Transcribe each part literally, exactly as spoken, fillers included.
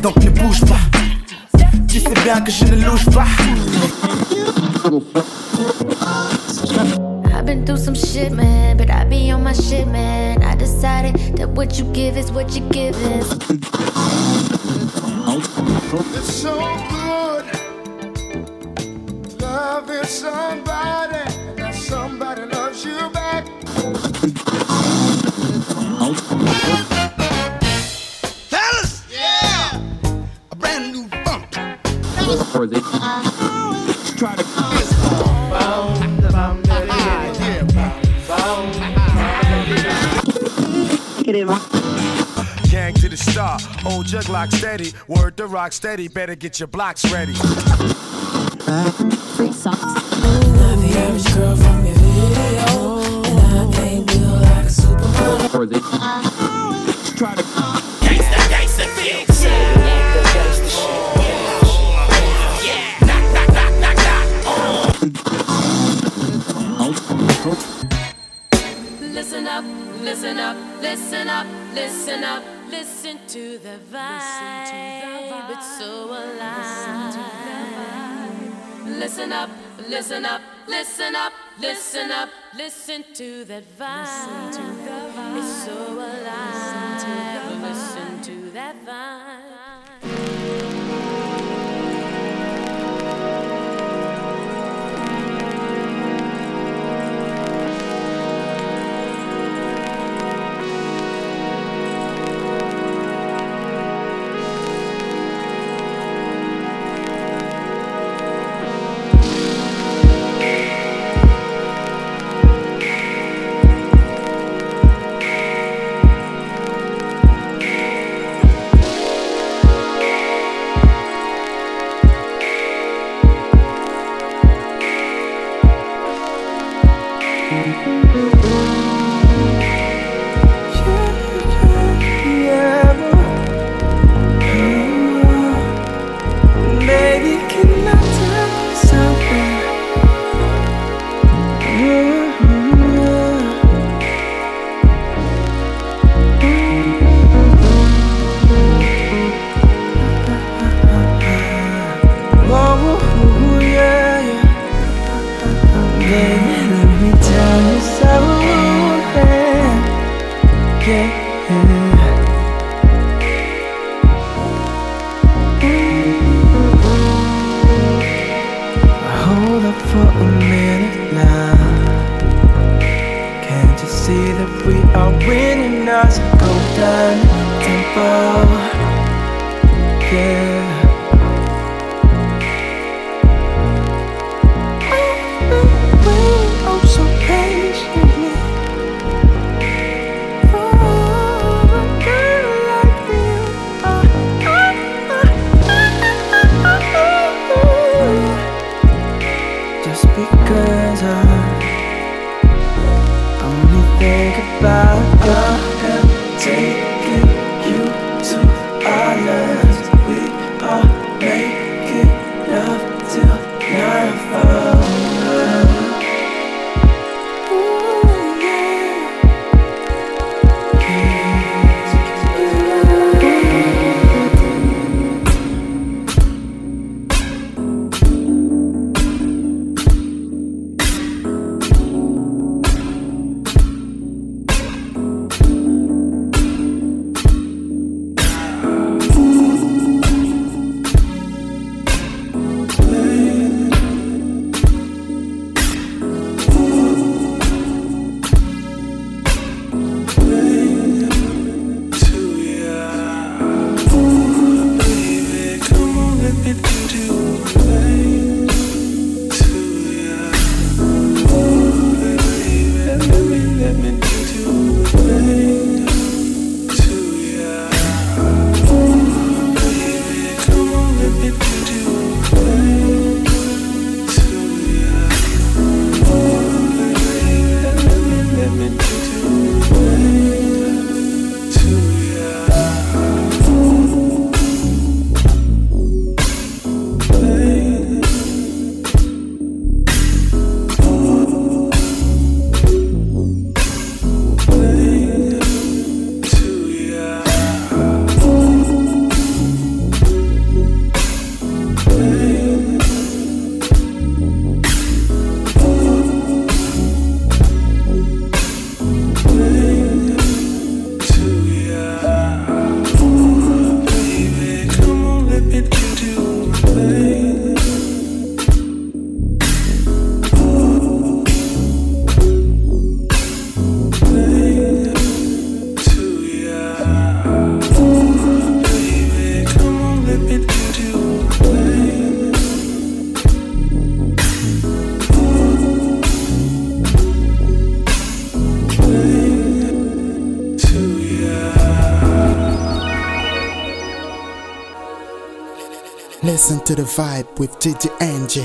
donc ne bouge pas. Tu sais bien que je ne louche pas. I've been through some shit, man, but I be on my shit, man. I decided that what you give is what you give is. It's so good loving somebody, and that somebody loves you back. Fellas, yeah, a brand new funk. Try to gang to the star, old jug lock steady, word to rock steady, better get your blocks ready. Free socks. Not the average girl from your video, and I ain't built like a supermodel. Try to Gangsta, gangsta, fix it. Gangsta shit. Yeah, knock, knock, knock, knock, knock. Listen up, listen up, listen up, listen up, listen to the vibe. It's so alive. Listen up, listen up, listen up, listen up, listen to that vibe. It's so alive. Listen to that vibe. taking you to islands with Listen to the vibe with D J Angie.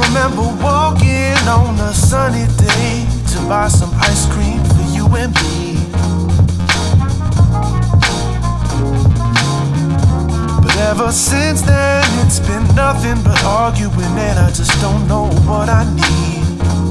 remember walking on a sunny day to buy some ice cream for you and me. But ever since then, it's been nothing but arguing, and I just don't know what I need,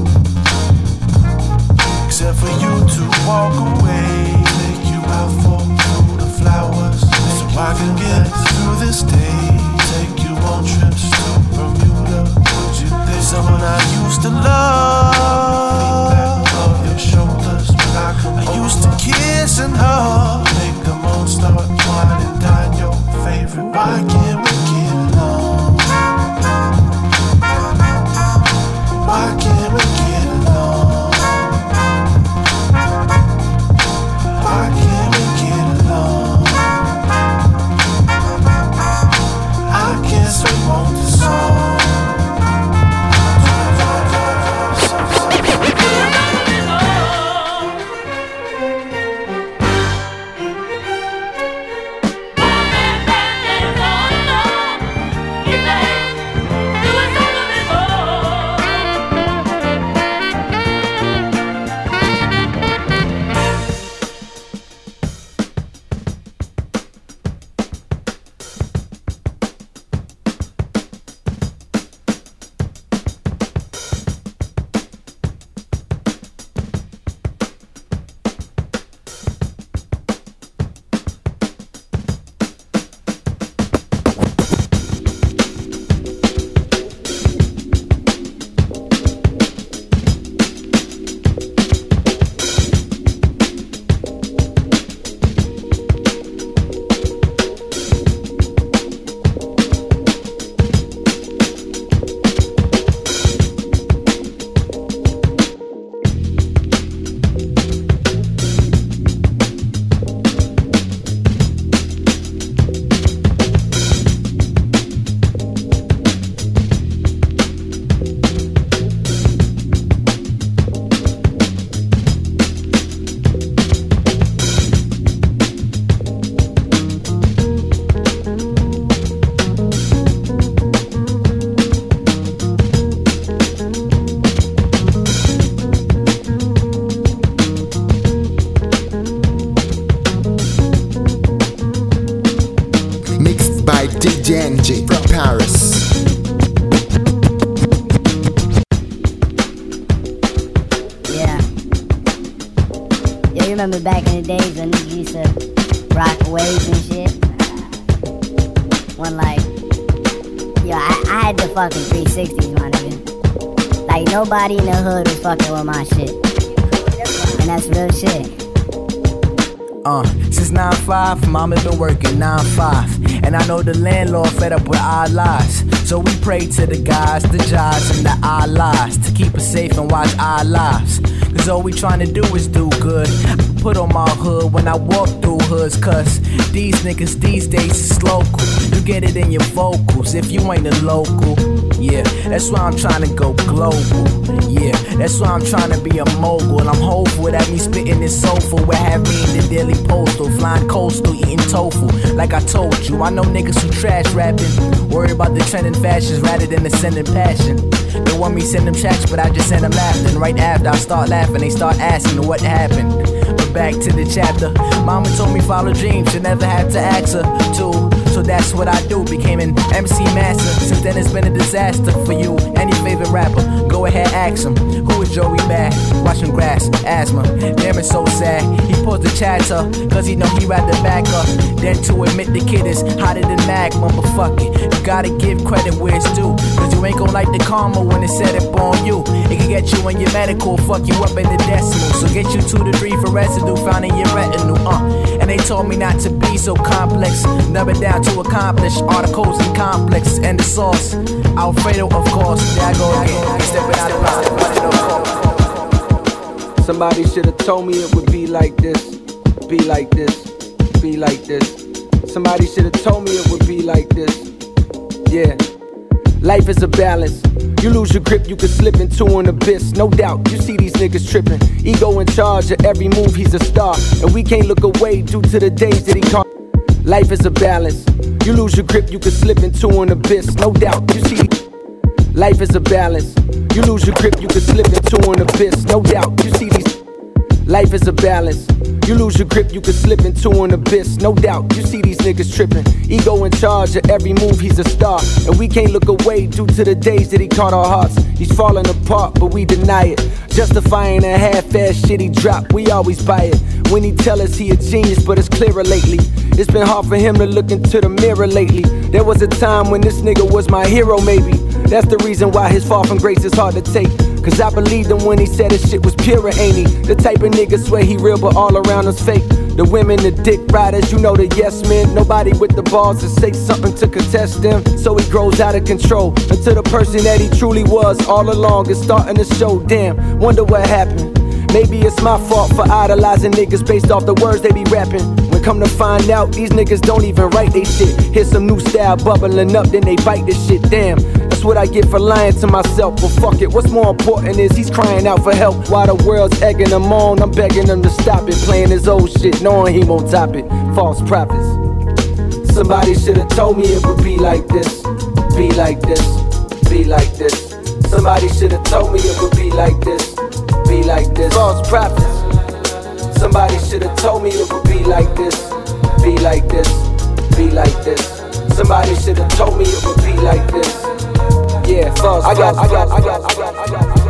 except for you to walk away. Take you out for through the flowers, so I can get through this day. Take you on trips to Bermuda. Would you think someone I used to love? Feedback of your shoulders, but I, I used to kiss and hug. Make the moon start wine and dine your favorite. Why can't we get along? Why can't we get along? Why can't we get along? I guess we want the song. From Paris. Yeah. Yeah, you remember back in the days when niggas used to rock waves and shit? When like, yo, I, I had the fucking three sixties, my nigga. Like nobody in the hood was fucking with my shit. And that's real shit. Uh, since nine five, mama been working nine five. And I know the landlord fed up with our lies. So we pray to the guys, the jobs, and the Allahs to keep us safe and watch our lives. Cause all we trying to do is do good. I put on my hood when I walk through hoods. Cause these niggas these days is local. You get it in your vocals if you ain't a local. Yeah, that's why I'm trying to go global. Yeah, that's why I'm trying to be a mogul. And I'm hopeful that me spitting this soulful will have me in the Daily Postal, flying coastal, eating tofu. Like I told you, I know niggas who trash rapping, worry about the trending fashions rather than the sending passion. They want me send them tracks, but I just send them laughing. Right after I start laughing, they start asking what happened. But back to the chapter. Mama told me follow dreams, you never have to ask her to. So that's what I do, became an M C master. Since then it's been a disaster for you. Any favorite rapper, go ahead ask him. Who is Joey Bad? Watching grass, asthma. Damn, it's so sad. He paused the chatter, cause he know he rather back up than to admit the kid is hotter than magma. But fuck it, you gotta give credit where it's due. Cause you ain't gon' like the karma when it's set up on you. It can get you in your medical, fuck you up in the decimal. So get you two to three for residue found in your retinue, uh. And they told me not to be so complex, never down to accomplish articles and complexes and the sauce. Alfredo, of course, there I go again, stepping out of line, running no course. Somebody should've told me it would be like this, be like this, be like this. Somebody should've told me it would be like this, yeah. Life is a balance. You lose your grip, you can slip into an abyss. No doubt, you see these niggas tripping. Ego in charge of every move, he's a star. And we can't look away due to the days that he caught. Life is a balance. You lose your grip, you can slip into an abyss. No doubt, you see. Life is a balance. You lose your grip, you can slip into an abyss. No doubt, you see these. Life is a balance. You lose your grip, you can slip into an abyss. No doubt, you see these niggas tripping. Ego in charge of every move, he's a star. And we can't look away due to the days that he caught our hearts. He's falling apart, but we deny it. Justifying a half-ass shit he dropped, we always buy it. When he tell us he a genius, but it's clearer lately. It's been hard for him to look into the mirror lately. There was a time when this nigga was my hero, maybe. That's the reason why his fall from grace is hard to take. Cause I believed him when he said his shit was pure, ain't he? The type of nigga swear he real, but all around us fake. The women, the dick riders, you know the yes men. Nobody with the balls to say something to contest them. So he grows out of control until the person that he truly was all along is starting to show. Damn, wonder what happened. Maybe it's my fault for idolizing niggas based off the words they be rapping. When come to find out, these niggas don't even write they shit. Here's some new style bubbling up, then they bite this shit. Damn, that's what I get for lying to myself. But fuck it, what's more important is he's crying out for help. While the world's egging him on, I'm begging him to stop it. Playing his old shit, knowing he won't top it. False prophets. Somebody should've told me it would be like this. Be like this, be like this. Somebody should've told me it would be like this. Be like this. False prophets. Somebody should've told me it would be like this. Be like this. Be like this. Somebody should've told me it would be like this. Yeah, false. I got, I got, I got, I got, I got, I got.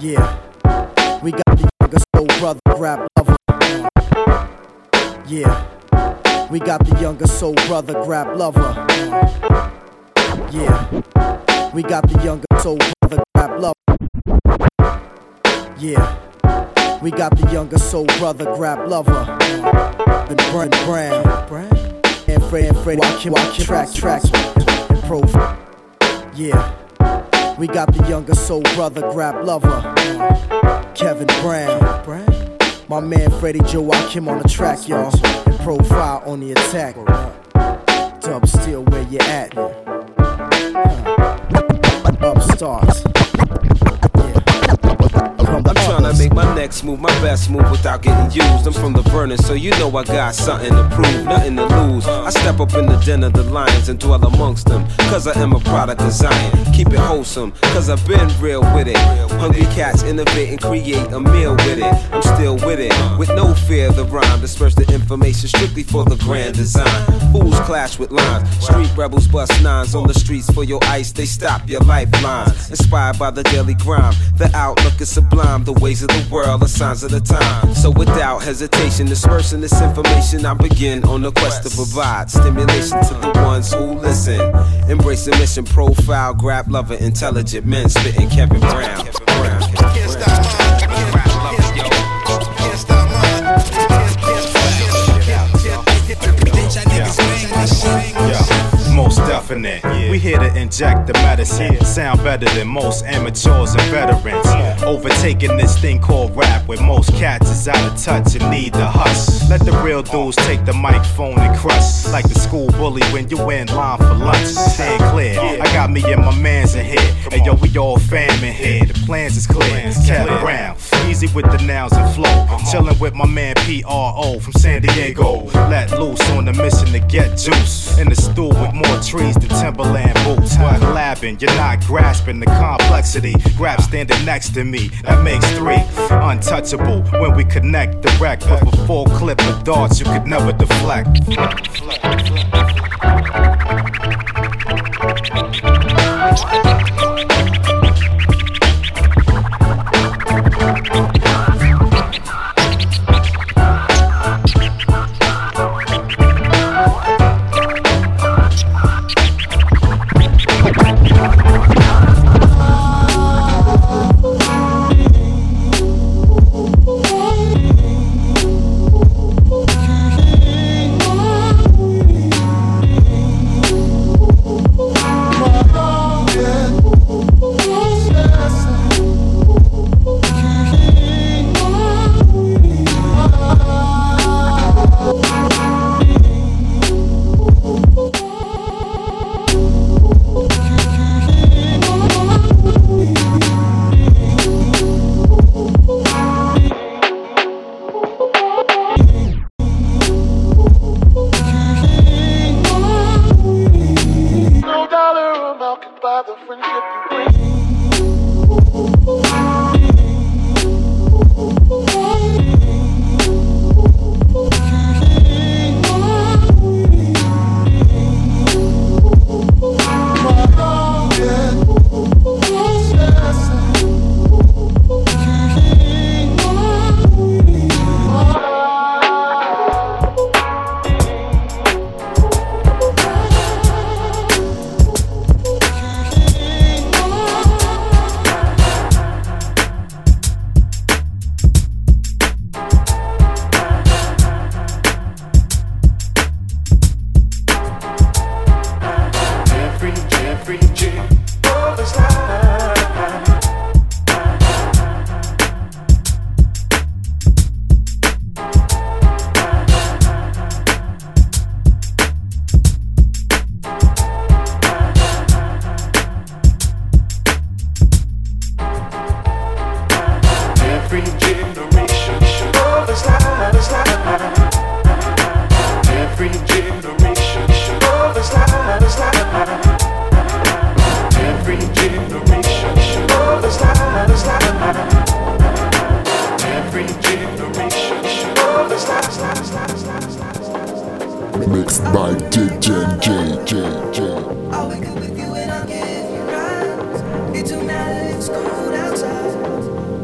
Yeah, we got the younger soul brother, rap lover. Yeah, we got the younger soul brother, grab lover. Yeah, we got the younger soul brother, grab lover. Yeah, we got the younger soul brother, grab lover. The brand brand, and Fred and Fred, watch him, watch him, track, track, and profile. Yeah, we got the younger soul brother, grab lover. Kevin Brown, my man Freddie Joachim on the track, y'all. And profile on the attack. Dub still where you at. Upstarts. I'm tryna make my next move, my best move without getting used. I'm from the burning, so you know I got something to prove, nothing to lose. I step up in the den of the lions and dwell amongst them, cause I am a product of Zion. Keep it wholesome, cause I've been real with it. Hungry cats innovate and create a meal with it. I'm still with it, with no fear of the rhyme. Disperse the information strictly for the grand design. Fools clash with lines, street rebels bust nines on the streets for your ice. They stop your lifeline. Inspired by the daily grind, the outlook is sublime. The ways of the world are signs of the time. So without hesitation, dispersing this information, I begin on the quest to provide stimulation to the ones who listen. Embrace the mission, profile, grab lover, intelligent men spitting Kevin Brown. Kevin Brown. Can't stop mine. Can't stop mine. Most definite. We here to inject the medicine. Sound better than most amateurs and veterans. Overtaking this thing called rap, where most cats is out of touch and need the hush. Let the real dudes take the microphone and crush, like the school bully when you in line for lunch. Stand clear, I got me and my mans in here. Hey yo, we all fam in here. The plans is clear. Kevin Brown, easy with the nouns and flow. Chillin' with my man P R O from San Diego. Let loose on the mission to get juice. In the stool with more trees than Timberland boots. Collabing, you're not grasping the complexity. Grab standing next to me, that makes three. Untouchable when we connect direct. But for full clip of darts you could never deflect. Mixed by D J J J J. I'll wake up with you and I'll give you rhymes. It don't matter, it's cold outside.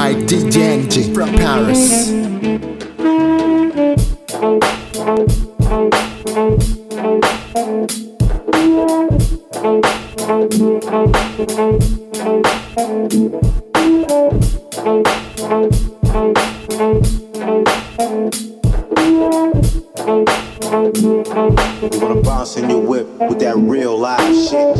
by D J N G from Paris. You wanna bounce in your whip with that real live shit.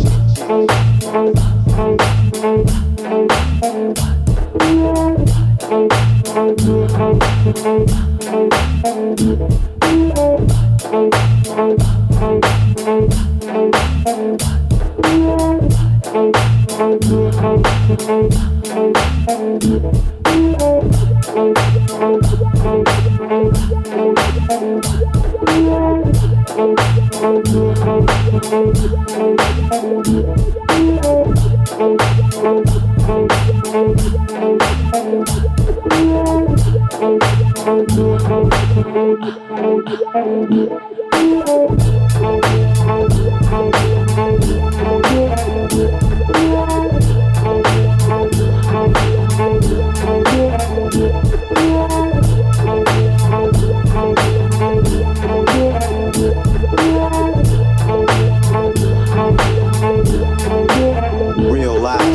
Real live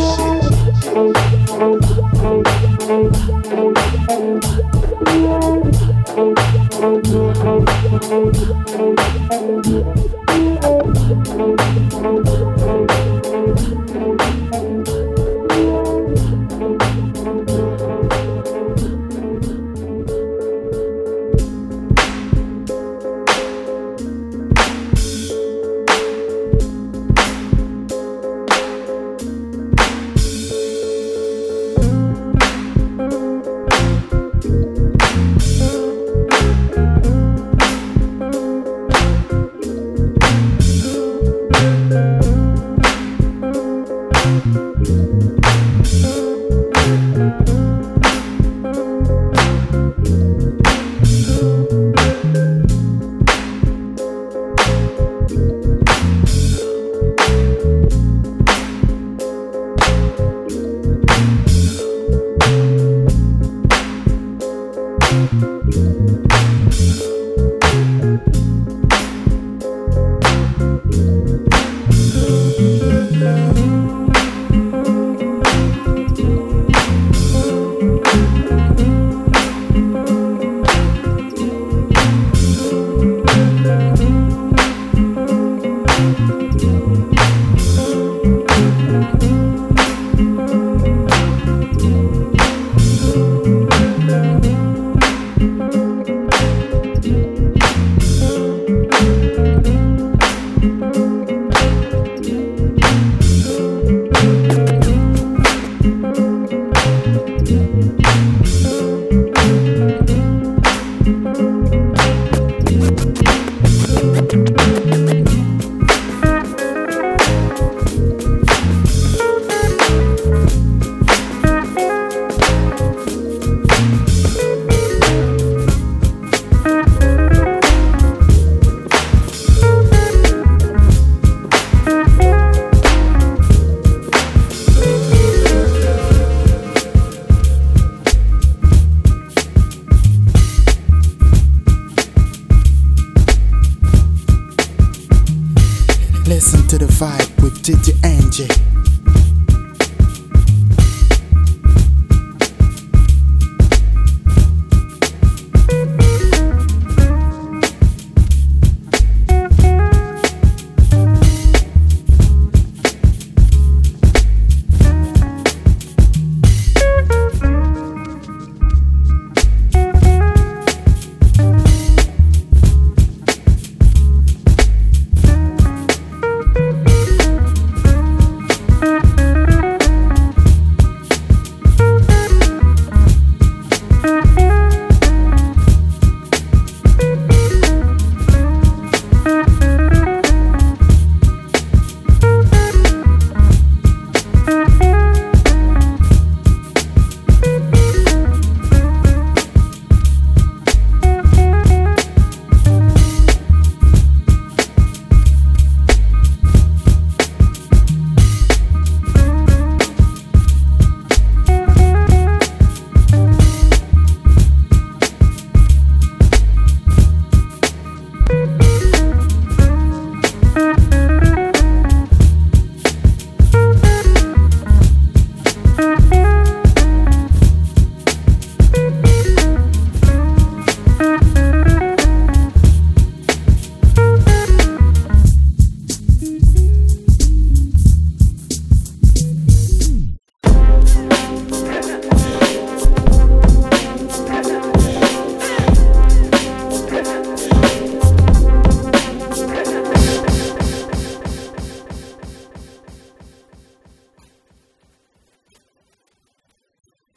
Listen to the vibe with D J N G.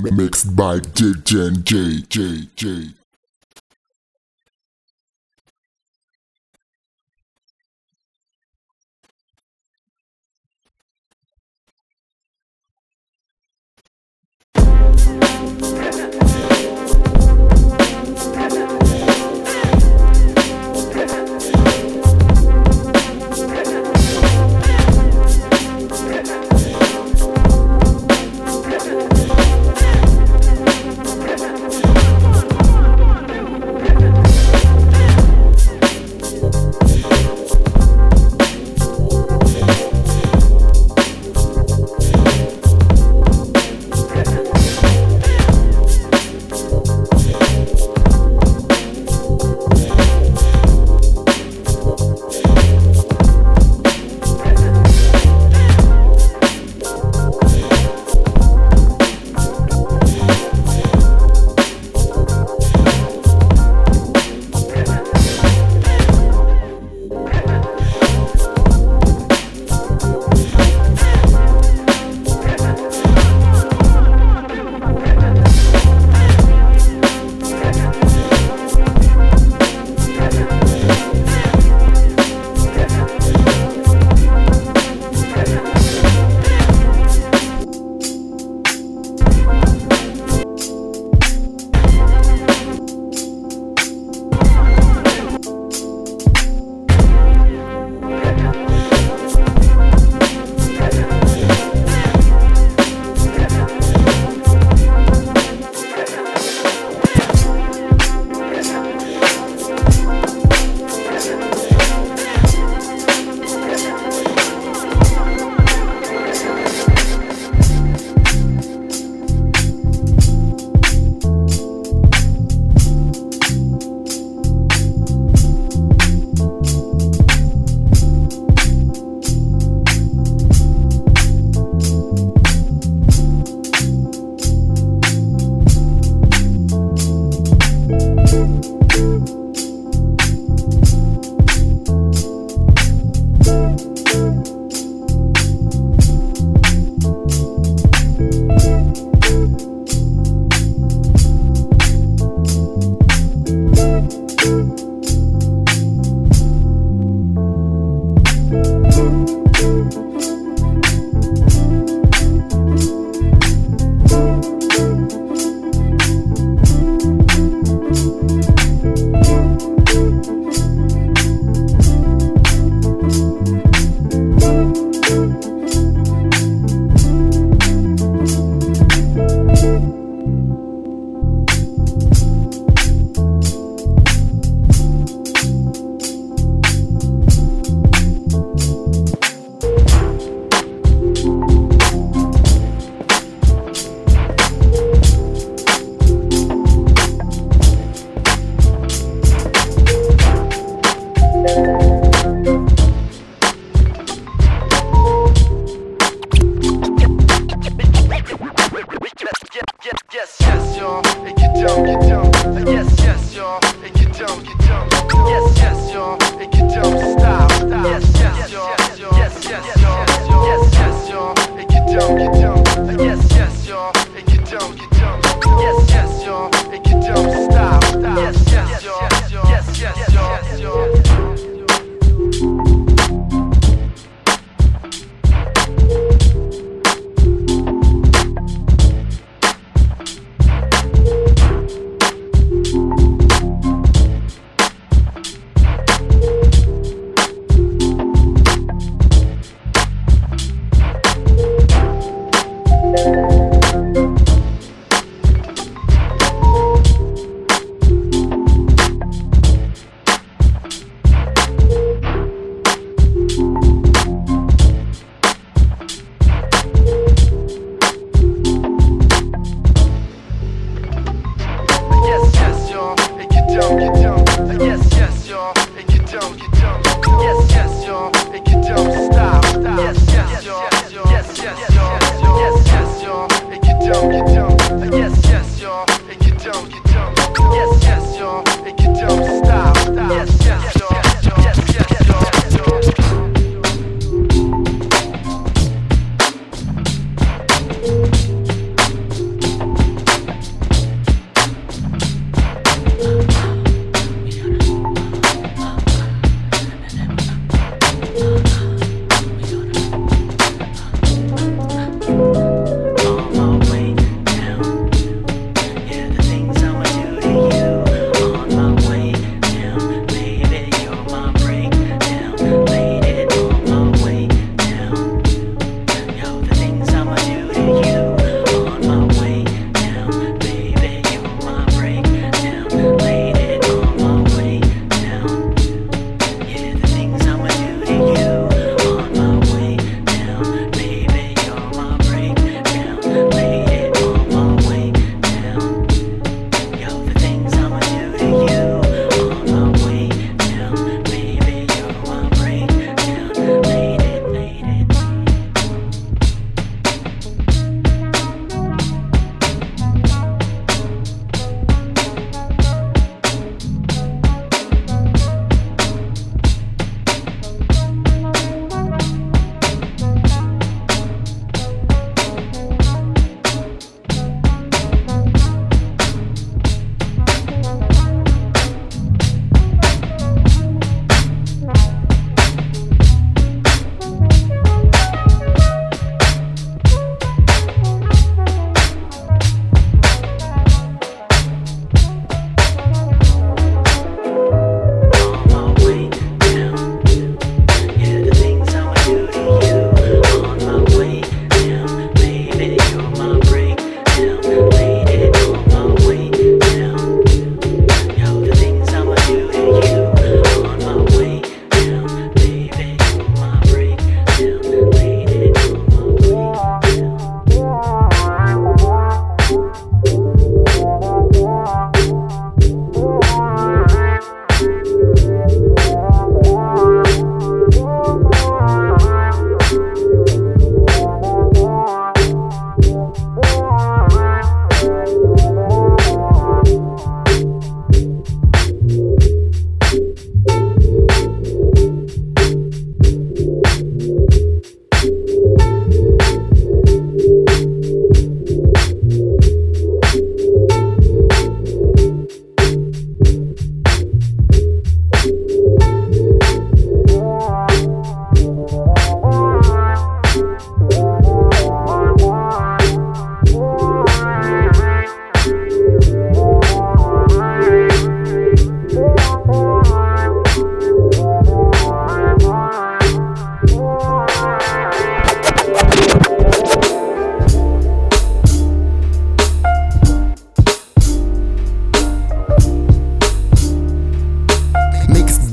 Mixed by J J J J J.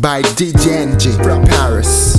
by D J N J from Paris.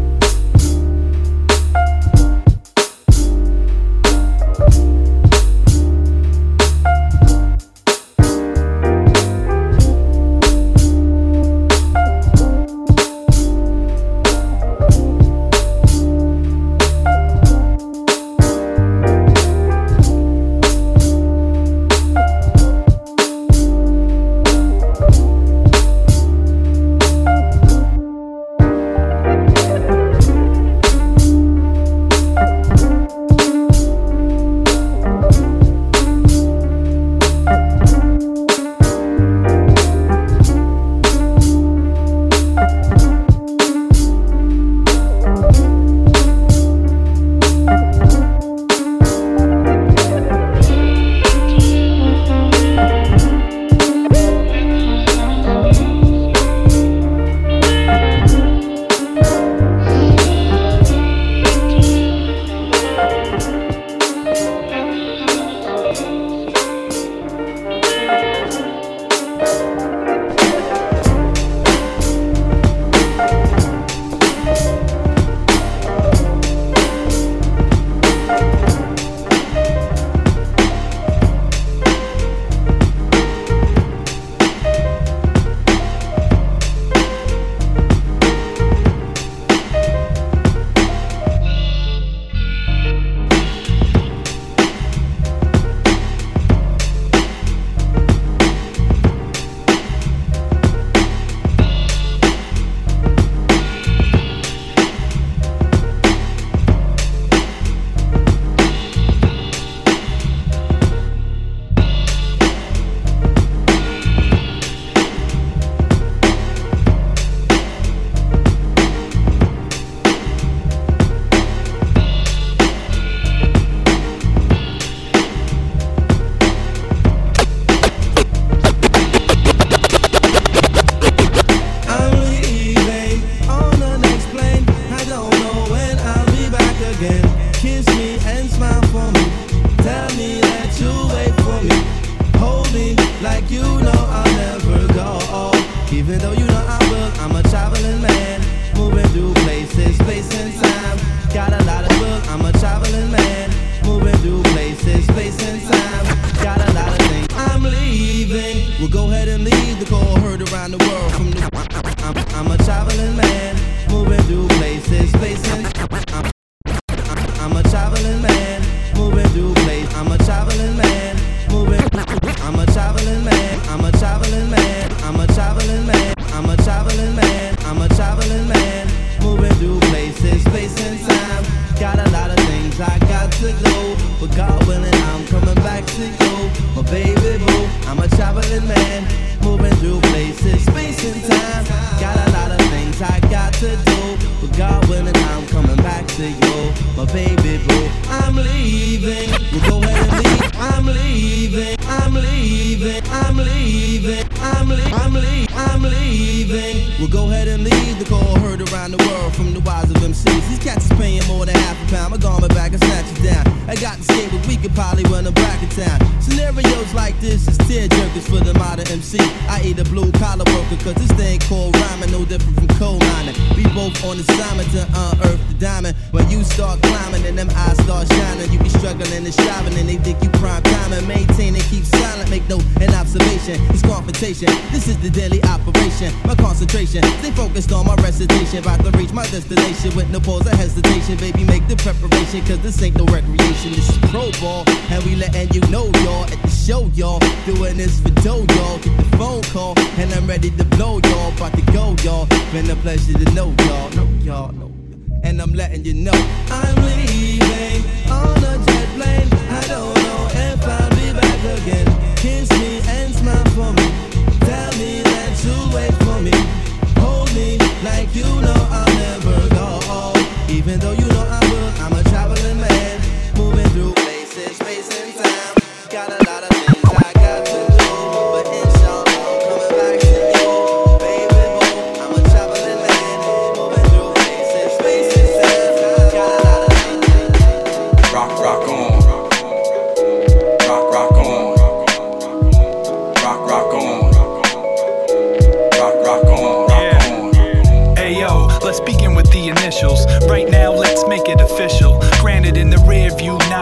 This is the daily operation, my concentration. Stay focused on my recitation. About to reach my destination with no pause or hesitation. Baby, make the preparation, cause this ain't no recreation. This is pro ball, and we letting you know, y'all. At the show, y'all. Doing this for dough, y'all. Get the phone call, and I'm ready to blow, y'all. About to go, y'all. Been a pleasure to know, y'all. Know, y'all, know. And I'm letting you know I'm leaving on a jet plane. I don't know if I'll be back again. Kiss me and smile for me. Tell me that you'll wait for me. Hold me like you know I'll never go. Even though you know I will, I'm a traveling man. Moving through places, space and time. Got a lot of things I got to do. But inshallah, I'm coming back to you. Baby boy, I'm a traveling man. Moving through places, space and time. Got a lot of things. Rock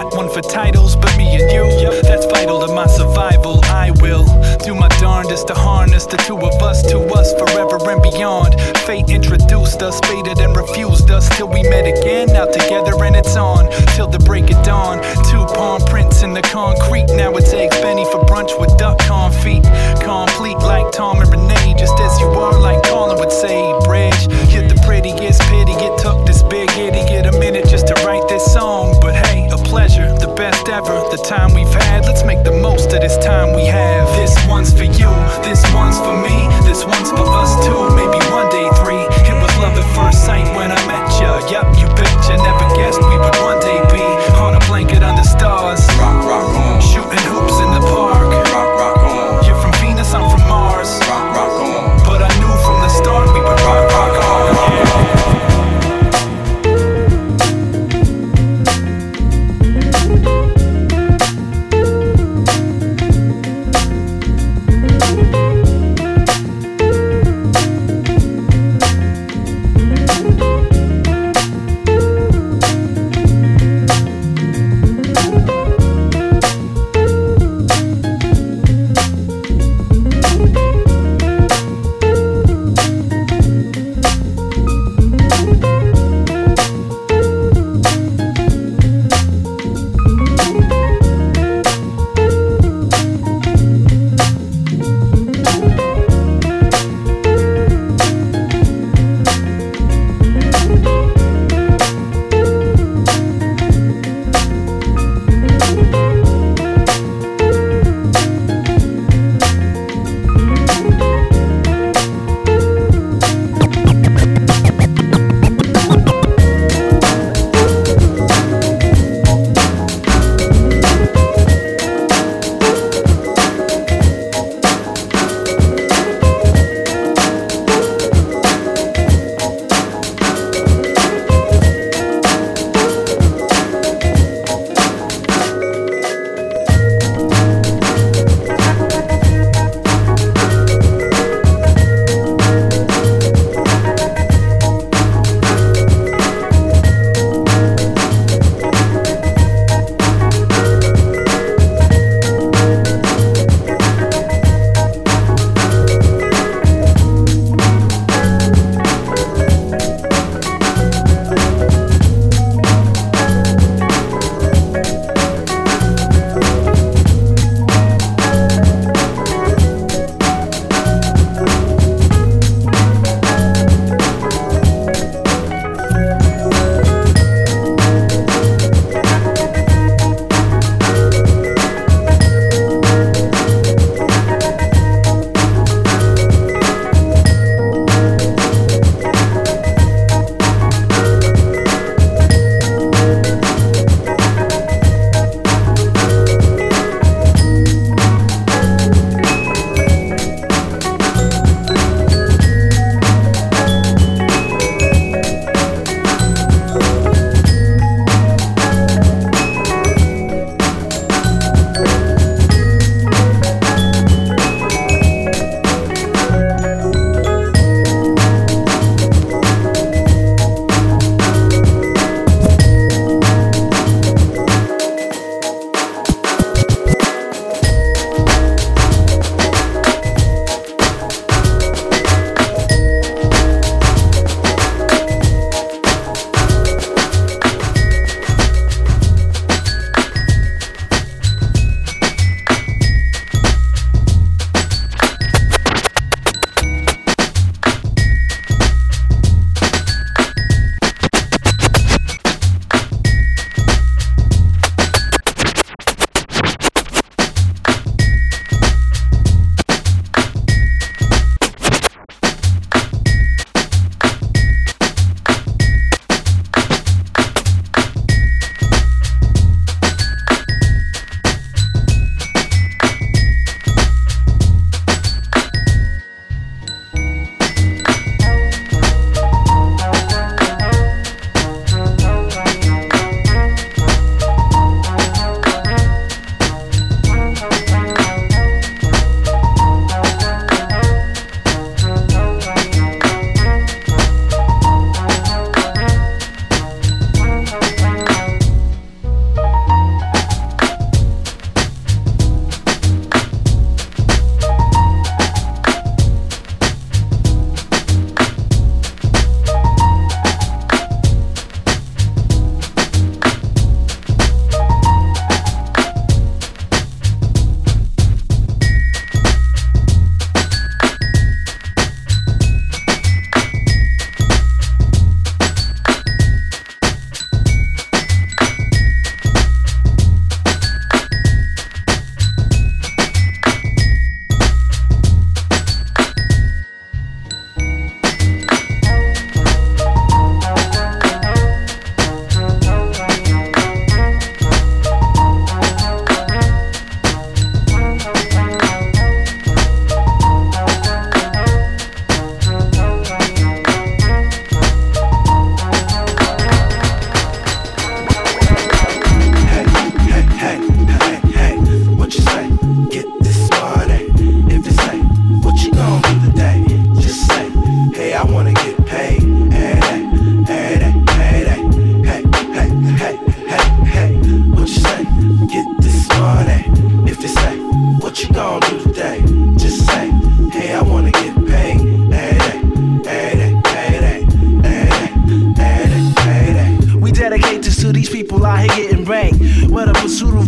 not one for titles, but me and you. That's vital to my survival. I will do my darndest to harness the two of us, to us forever and beyond. Fate introduced us, faded and refused us, till we met again, now together and it's on, till the break of dawn. Two palm prints in the concrete, now it's eggs Benny for brunch with duck confit. Complete like Tom and Renee, just as you are, like Colin would say. Bridge, you're the prettiest pity, get tucked this big itty, get a minute just to write this song. But hey, a pleasure, the best ever, the time we've had, let's make the most of this time we have. This one's for you, this one's for me, this one's for us too, maybe one day three. It was love at first sight when I met ya, yup, you betcha, never guessed we would one day be on a blanket under stars, rock, rock on, shooting hoops in the park, rock, rock on. You're from Venus, I'm from Mars, rock, rock on. But I knew from the start we would rock, rock on, yeah.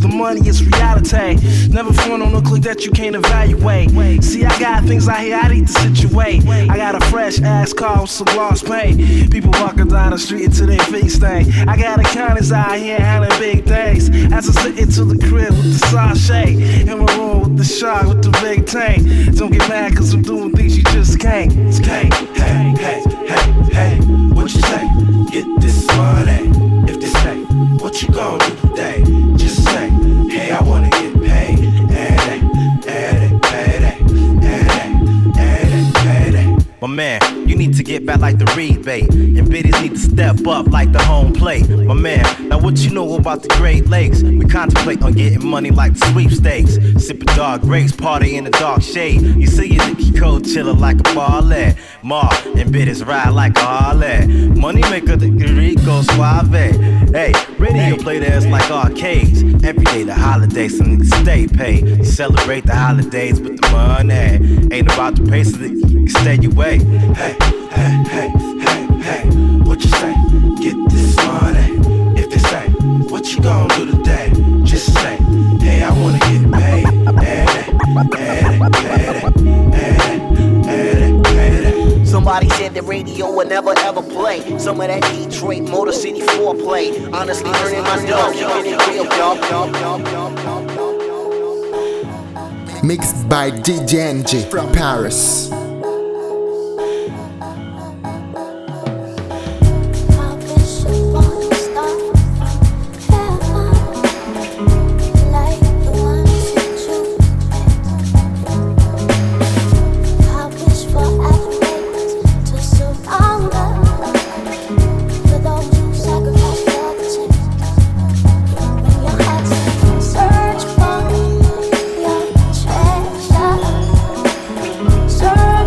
the money is reality. Never phone on no click that you can't evaluate. See, I got things out here I need to situate. I got a fresh ass car with some gloss paint. People walking down the street until they face thing. I got accountants out here handling big things. As I sit into the crib with the sachet, in my room with the shark with the big tank. Don't get mad cause I'm doing things you just can't. It's can't. Hey, hey, hey, hey, what you say? Get this money. If they say, what you gon' do today? Just say, hey, I wanna get paid. Hey, hey, hey, hey, hey, hey. My man, you need to get back like the rebate, and biddies need to step up like the home plate. My man, now what you know about the Great Lakes? We contemplate on getting money like the sweepstakes. Sipping dark grapes, party in the dark shade. You see your Nicky Cole chillin' like a ballet. Ma and biddies ride like a Harley. Money maker, the Rico Suave. Hey, radio play theirs like arcades. Every day the holidays, some niggas stay paid. You celebrate the holidays with the money. Ain't about the pace of it, you stay away. Hey, hey, hey, hey, hey, what you say? Get this money. If they say, what you gon' do today? Just say, hey, I wanna get paid. Hey, hey, hey, hey, hey, hey. Somebody said the radio would never ever play some of that Detroit Motor City foreplay. Honestly, earning my dough, keeping it real, y'all. Mixed by D J N J from Paris. Search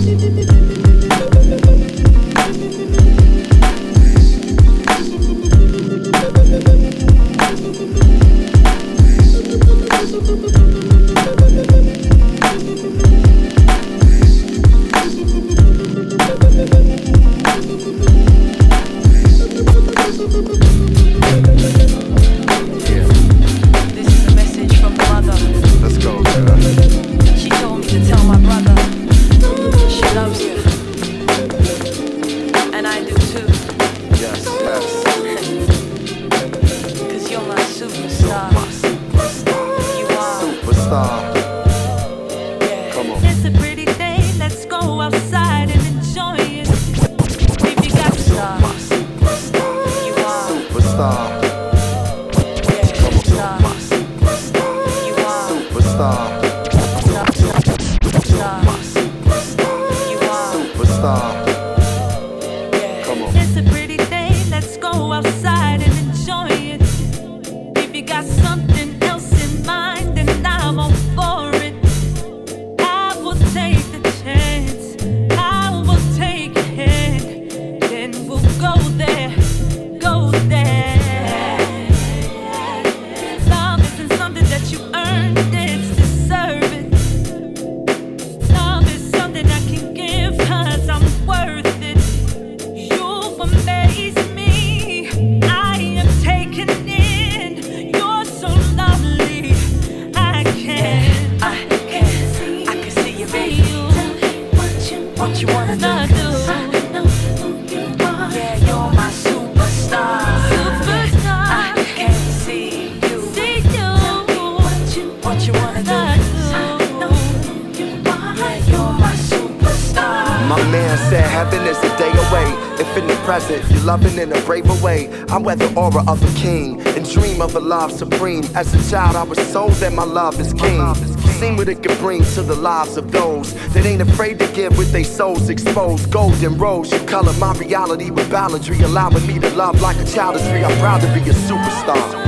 Supreme. As a child, I was told that my love is king. Seen what it could bring to the lives of those that ain't afraid to give with their souls exposed. Golden rose, you color my reality with balladry, allowing me to love like a child is free. I'm proud to be a superstar.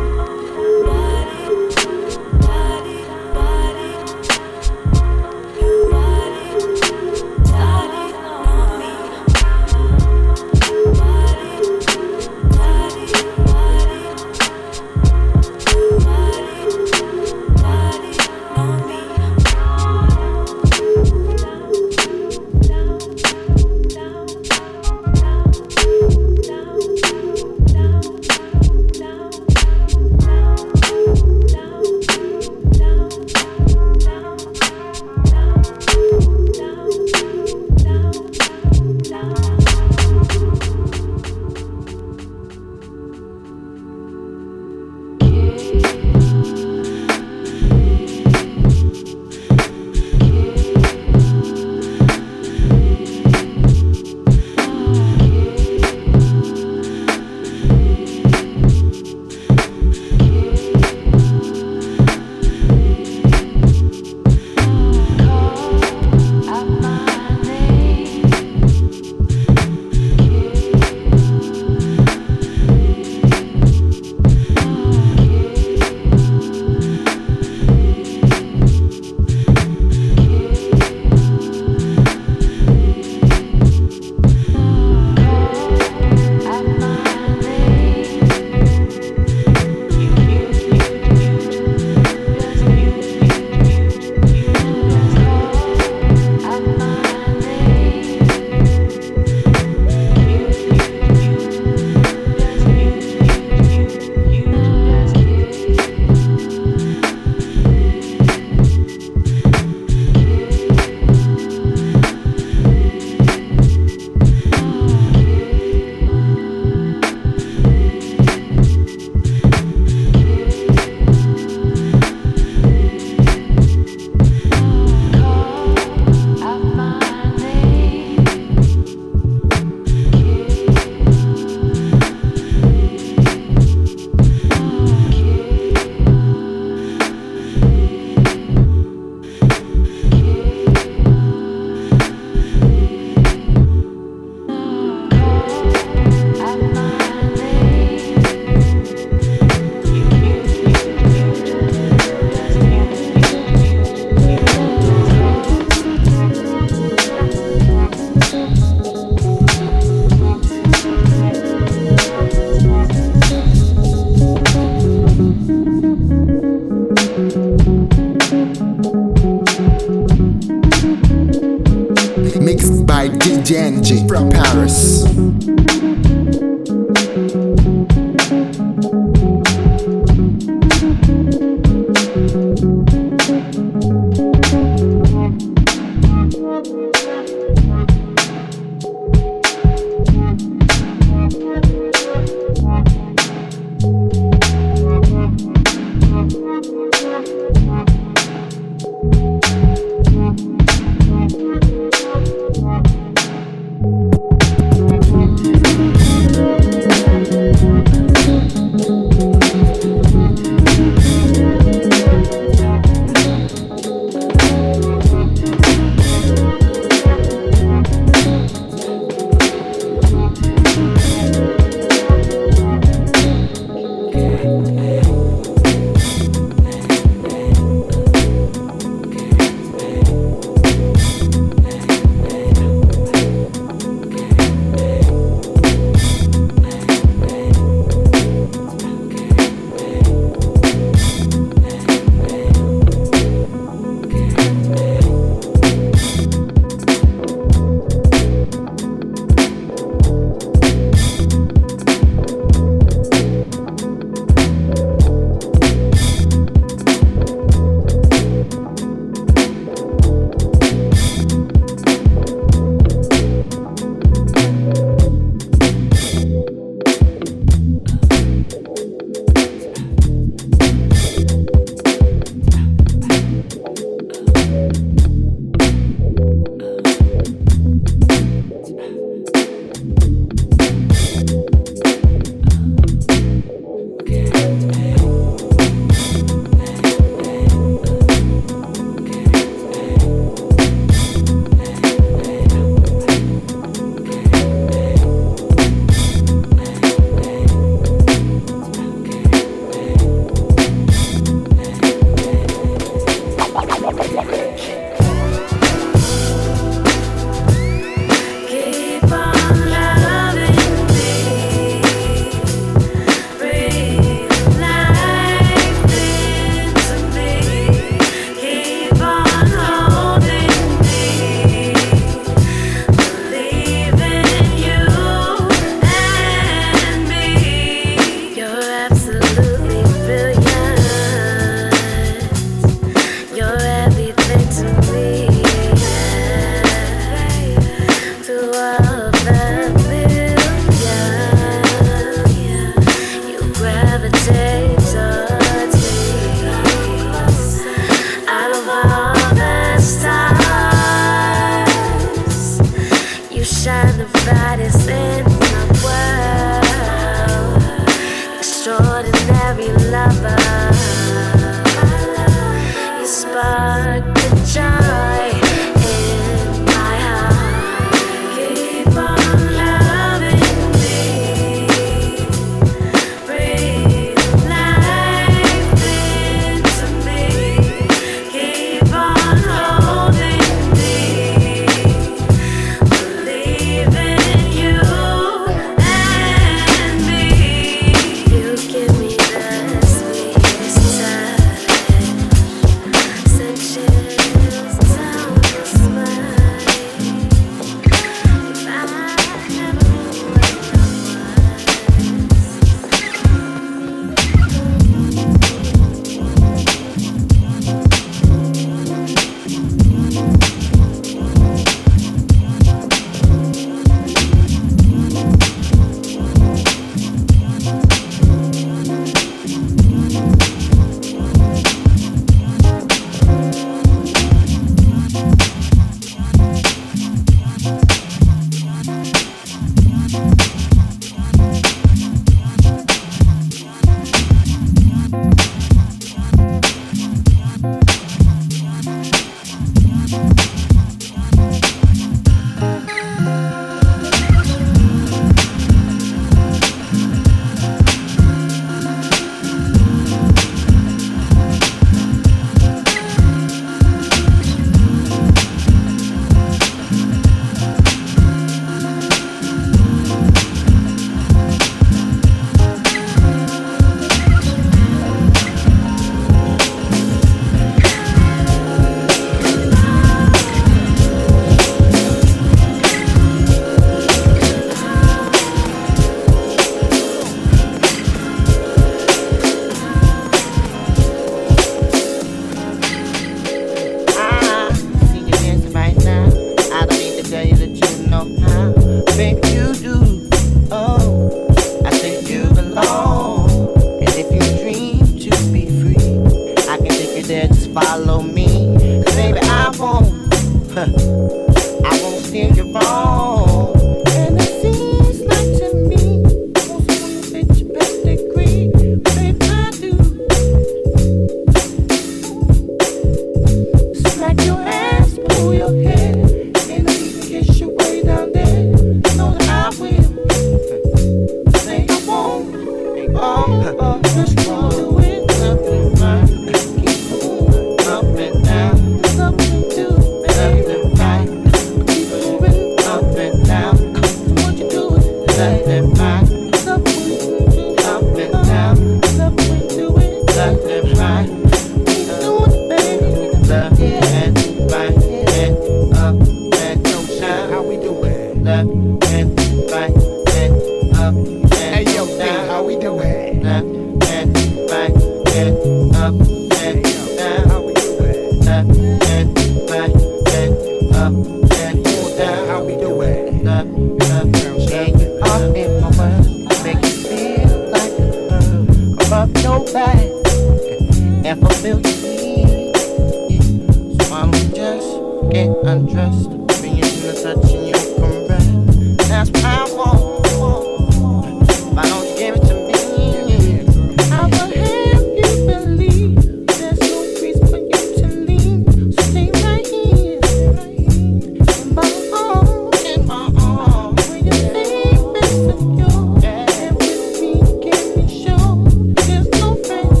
back and fulfill your needs. So why don't you just get undressed, bring it in the touch and you can rest. That's what I want. Why don't you give it to me? I will help you believe there's no reason for you to leave. So stay right here in my arms, in my arms. When you think it's secure, and with me, can be sure there's no rest.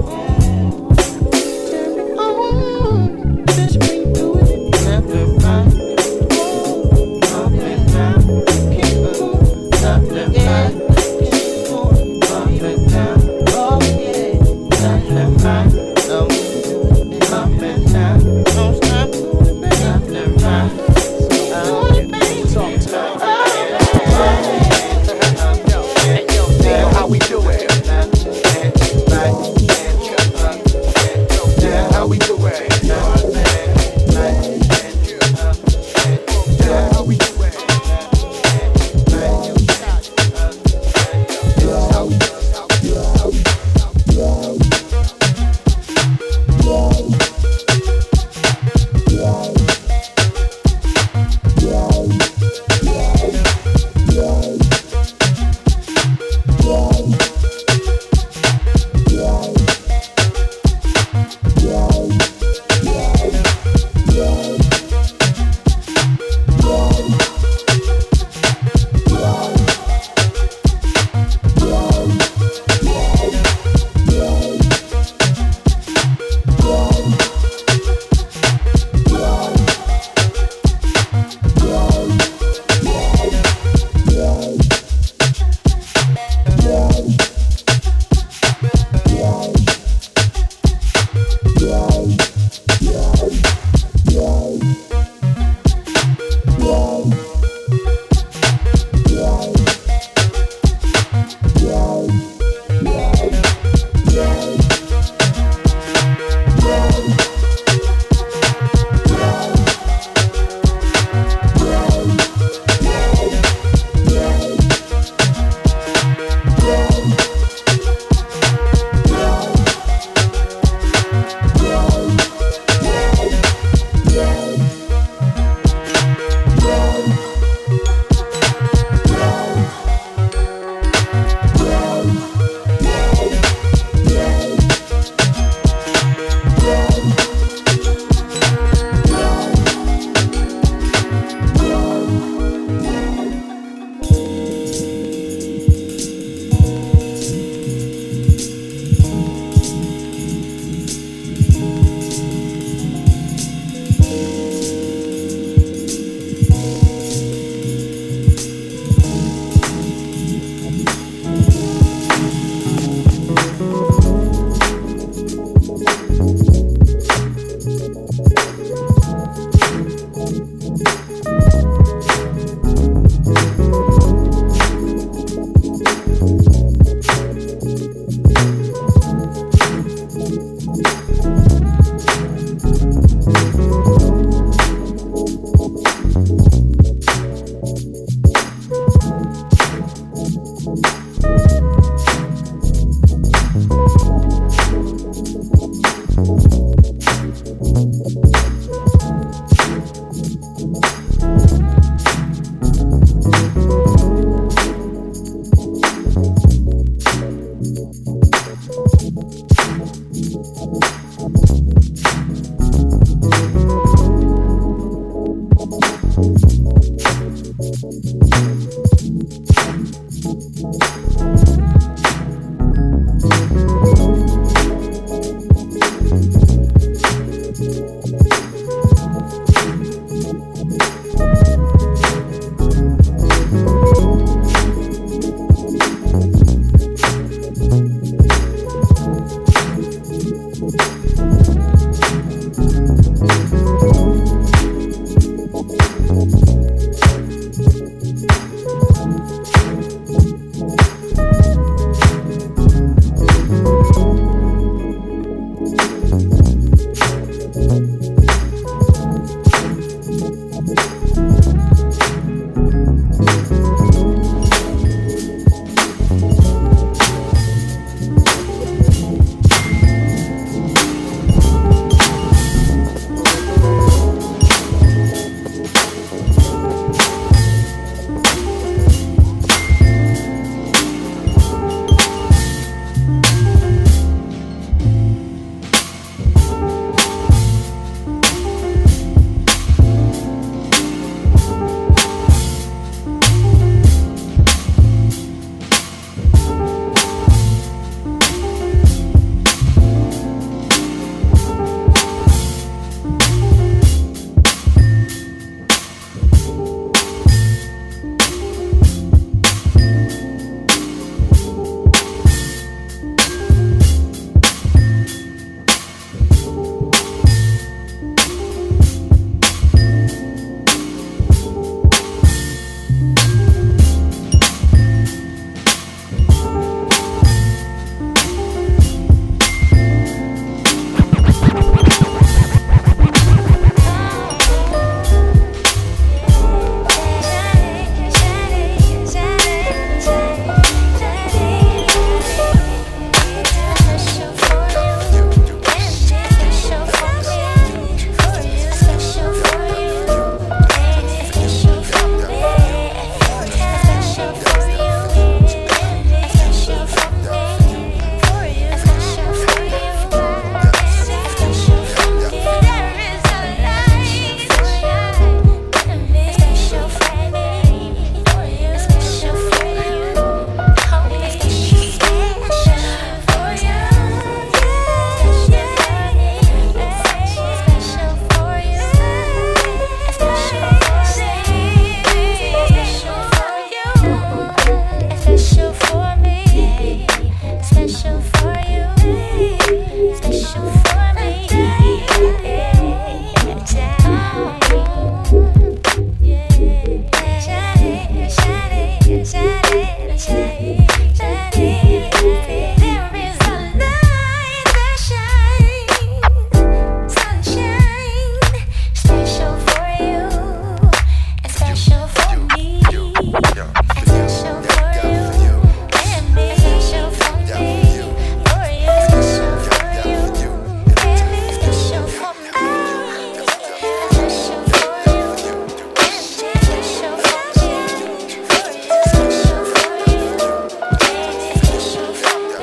Turn it on, just redo it, left it right. Up and down, keep it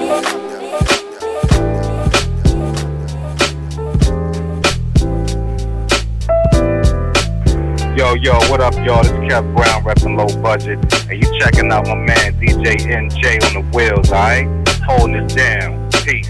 Yo, yo, what up, y'all? This is Kev Brown, reppin' Low Budget. And you checking out my man D J N J on the wheels, alright? Holding it down. Peace.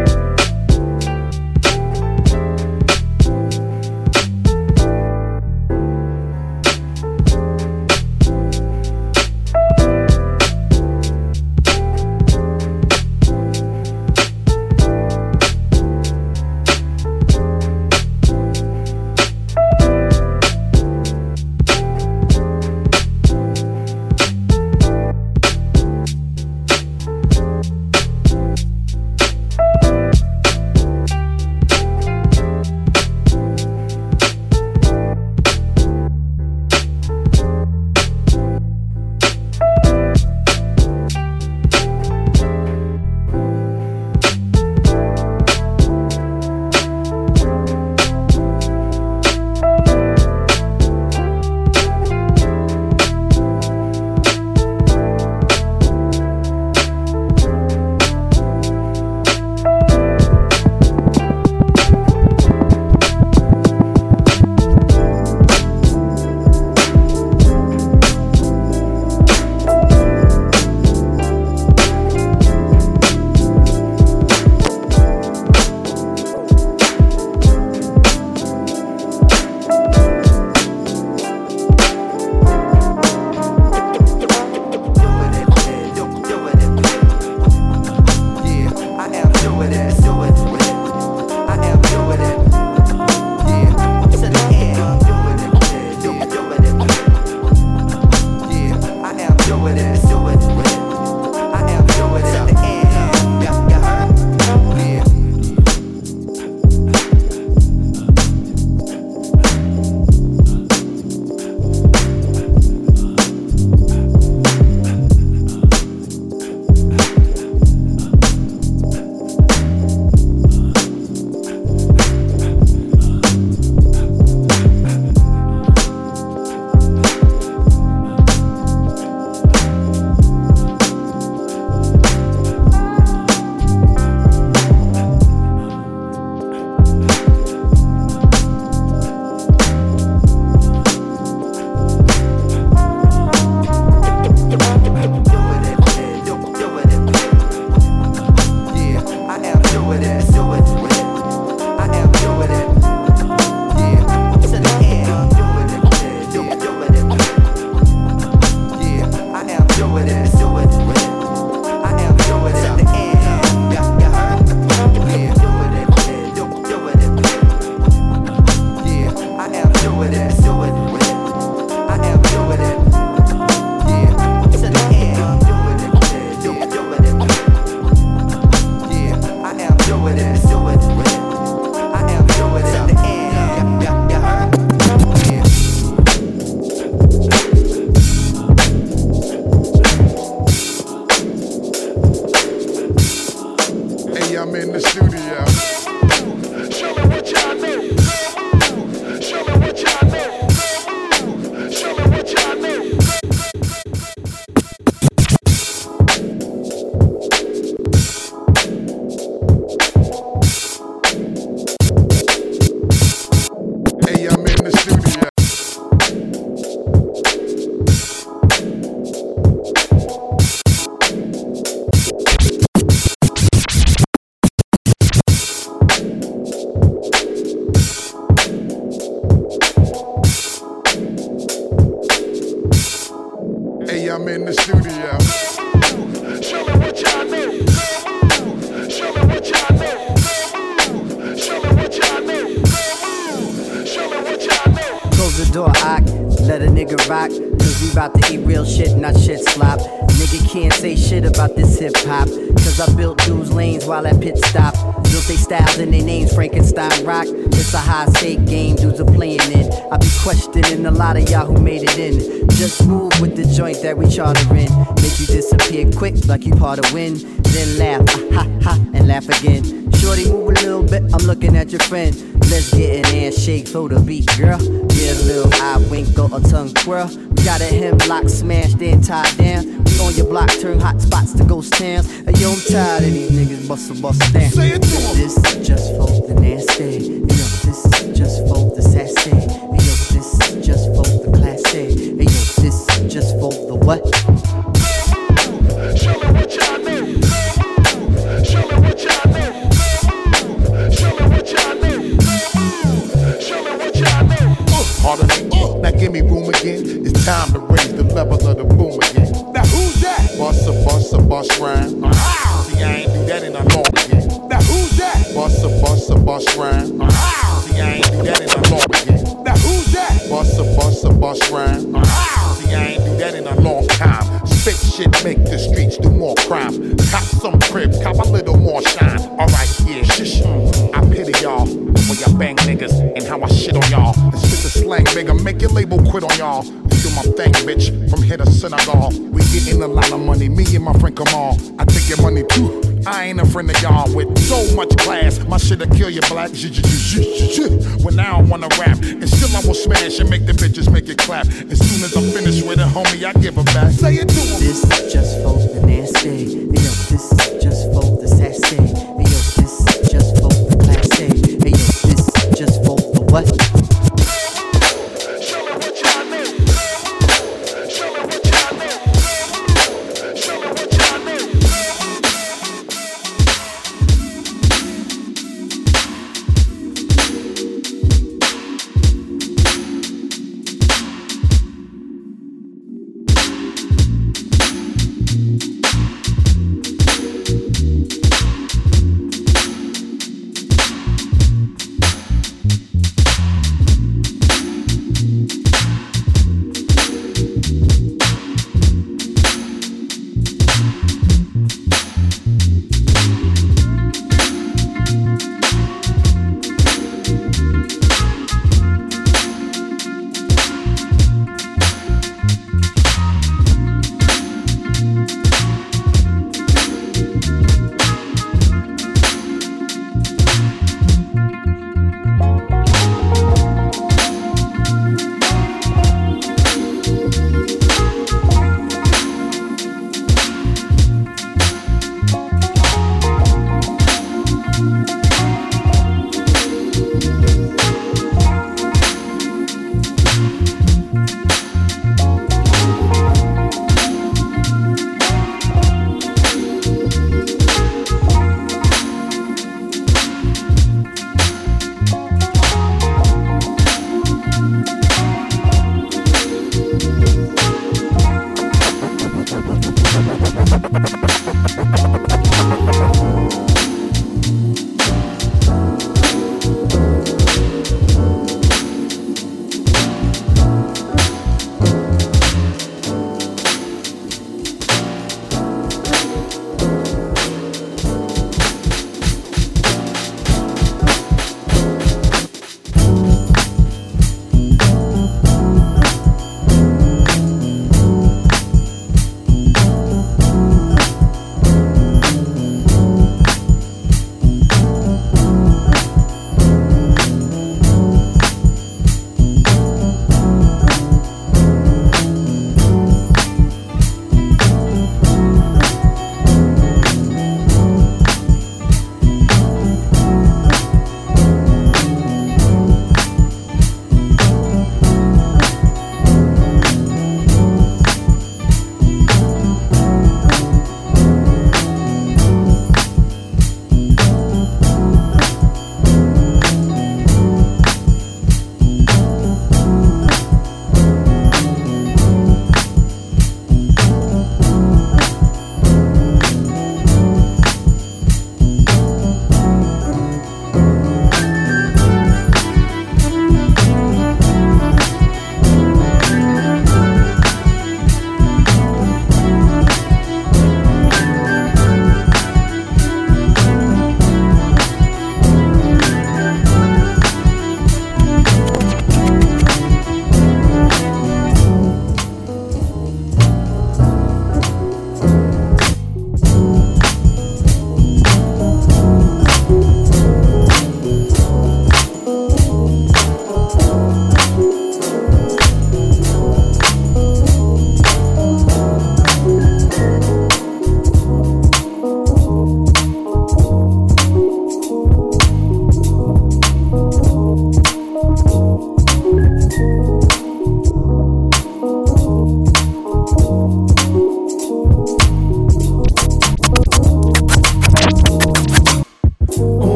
I'm in the studio. Show me what y'all know. Show me what y'all know. Show me what y'all know. Show me what y'all know. Close the door, Ock. Let a nigga rock. Cause we bout to eat real shit, not shit slop. Nigga can't say shit about this hip hop. Cause I built dudes lanes while at pit stop. Built they styles and they names, Frankenstein rock. It's a high stake game, dudes are playing in. I be questioning a lot of y'all who made it in. Just move with the joint that we charterin'. Make you disappear quick like you part of win. Then laugh, ah, ha ha, and laugh again. Shorty, move a little bit, I'm looking at your friend. Let's get it and shake for the beat, girl. Get a little eye wink or a tongue twirl. We got a hemlock smashed and tied down. We on your block, turn hot spots to ghost towns. Hey, yo, I'm tired of these niggas bustle bustle down. Say it to them. This is just for the nasty. Hey, yo, this is just for the sassy. Hey, yo, this is just for the classy. Hey, yo, this is just for the what? Show me what y'all know. Show me what y'all know. Show me what y'all know. Show me what y'all know. Harder than uh, now give me room again. It's time to raise the level of the boom again. Now who's that? Bust a bust a bust rhyme. Uh-huh. See, I ain't do that in a long again. Now who's that? Bust a bust a bust rhyme. Uh-huh. See, I ain't do that in a long again. Now who's that? Bust a bust a bust rhyme. Uh-huh. See, I ain't do that in a long time. Spit shit, make the streets do more crime. Cop some cribs, cop a little more shine. Alright, yeah, shush. I pity y'all when y'all bang niggas and how I shit on y'all. And spit the slang bigger, make your label quit on y'all. Do my thing, bitch, from here to Senegal. We getting a lot of money, me and my friend Kamal. I take your money too. I ain't a friend of y'all with so much class. My shit'll kill you black. When I don't wanna rap, and still I will smash and make the bitches make it clap. As soon as I'm finished with it, homie, I give her back. Say it to them. This is just for the nasty. Hey, yo, this is just for the sassy. Hey, yo, this is just for the classy. Hey, yo, this is just for the what?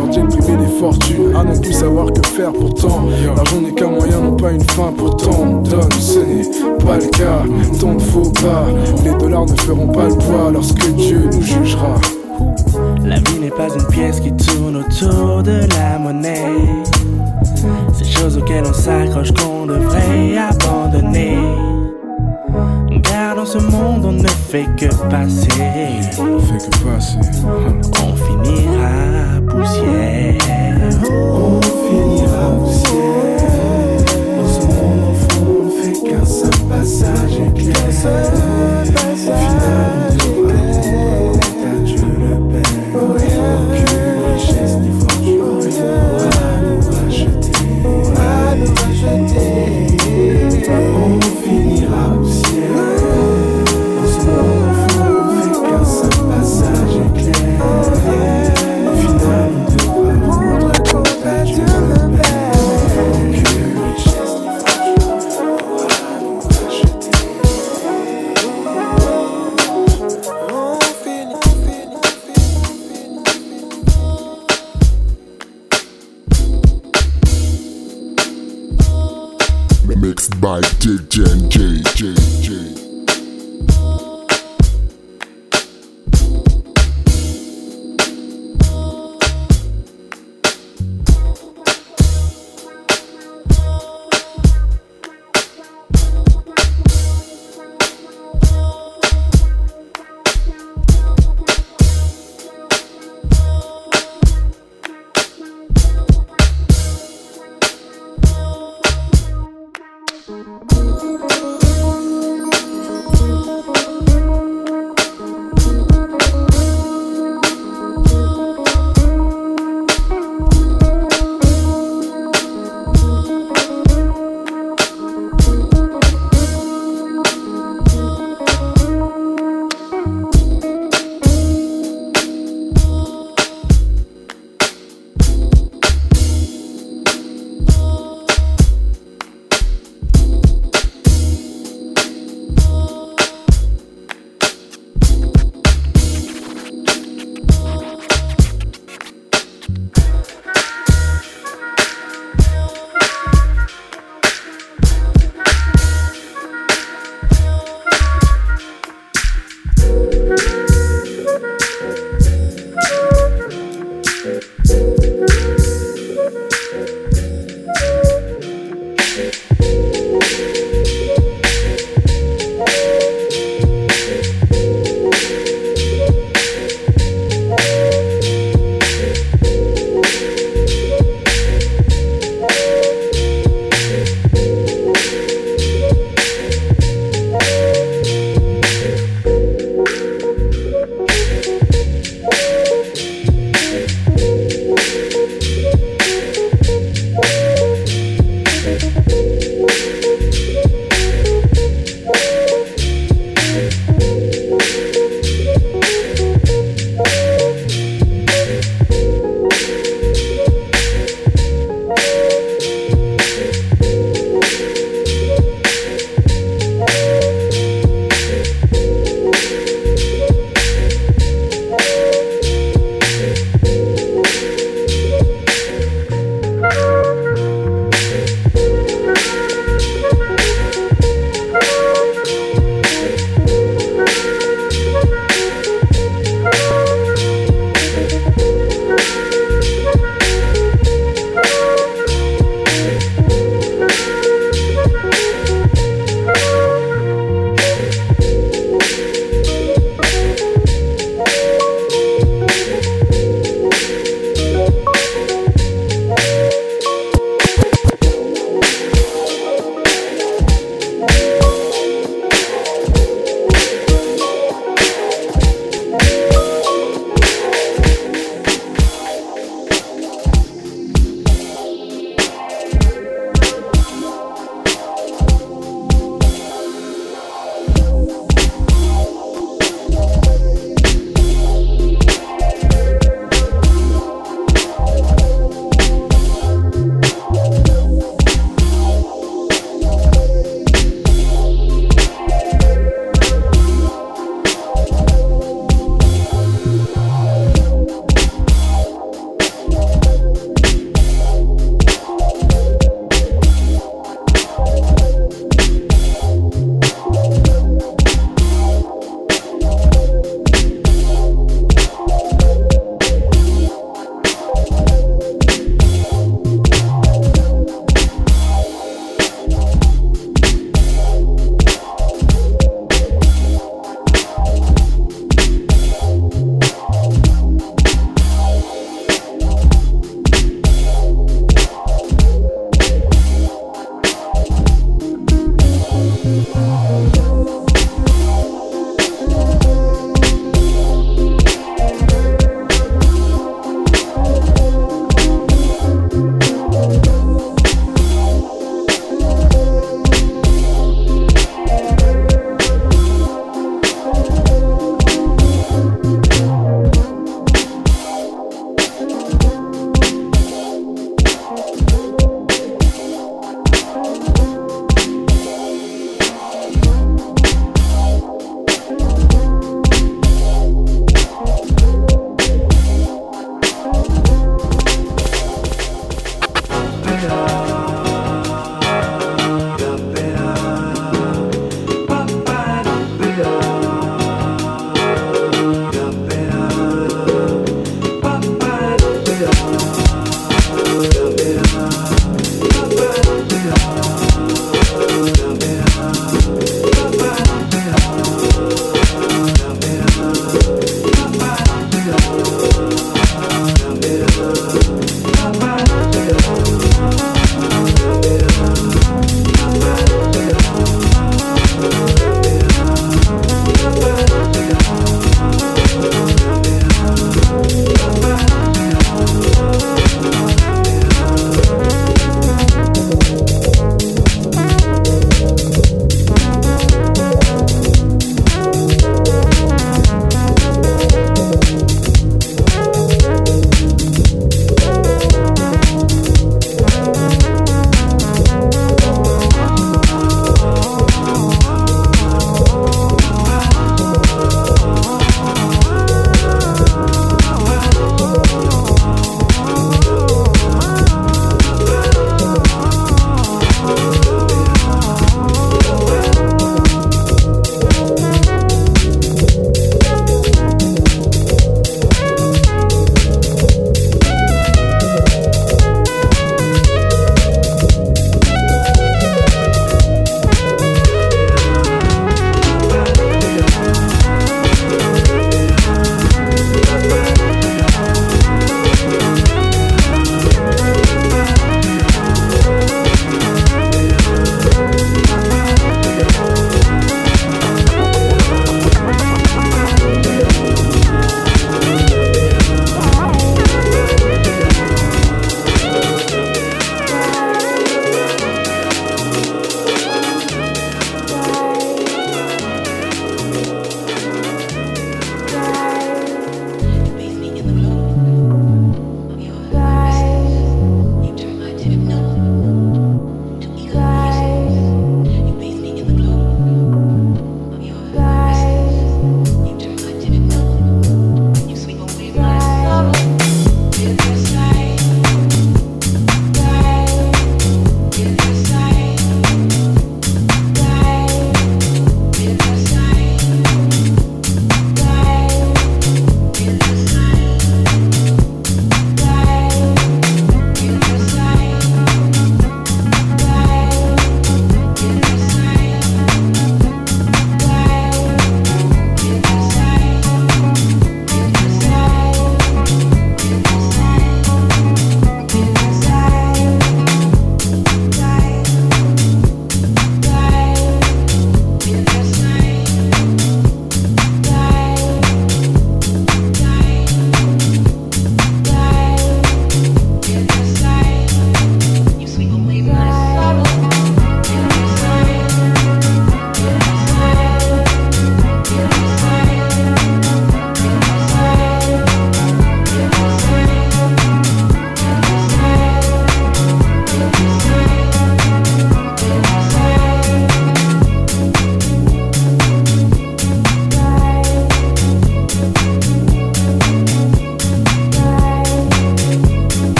leur dit de priver les fortunes, à ne plus savoir que faire pourtant. L'argent n'est qu'un moyen, non pas une fin, pourtant on donne, ce n'est pas le cas. Tant de faux pas, les dollars ne feront pas le poids lorsque Dieu nous jugera. La vie n'est pas une pièce qui tourne autour de la monnaie. Ces choses auxquelles on s'accroche qu'on devrait abandonner. Car dans ce monde on ne fait que passer. On fait que passer. On finira poussière. On finira poussière. Dans ce monde au fond on ne fait qu'un seul passage éclair. Au final on devra rendre à Dieu le Père. Aucune richesse ni fortune pourra nous racheter. Pourra nous racheter. On finira poussière. Dans ce monde au fond on ne fait qu'un seul passage éclair. Au final on devra rendre compte à Dieu le Père. Aucune richesse ni fortune pourra nous racheter. Mixed by D J J J J.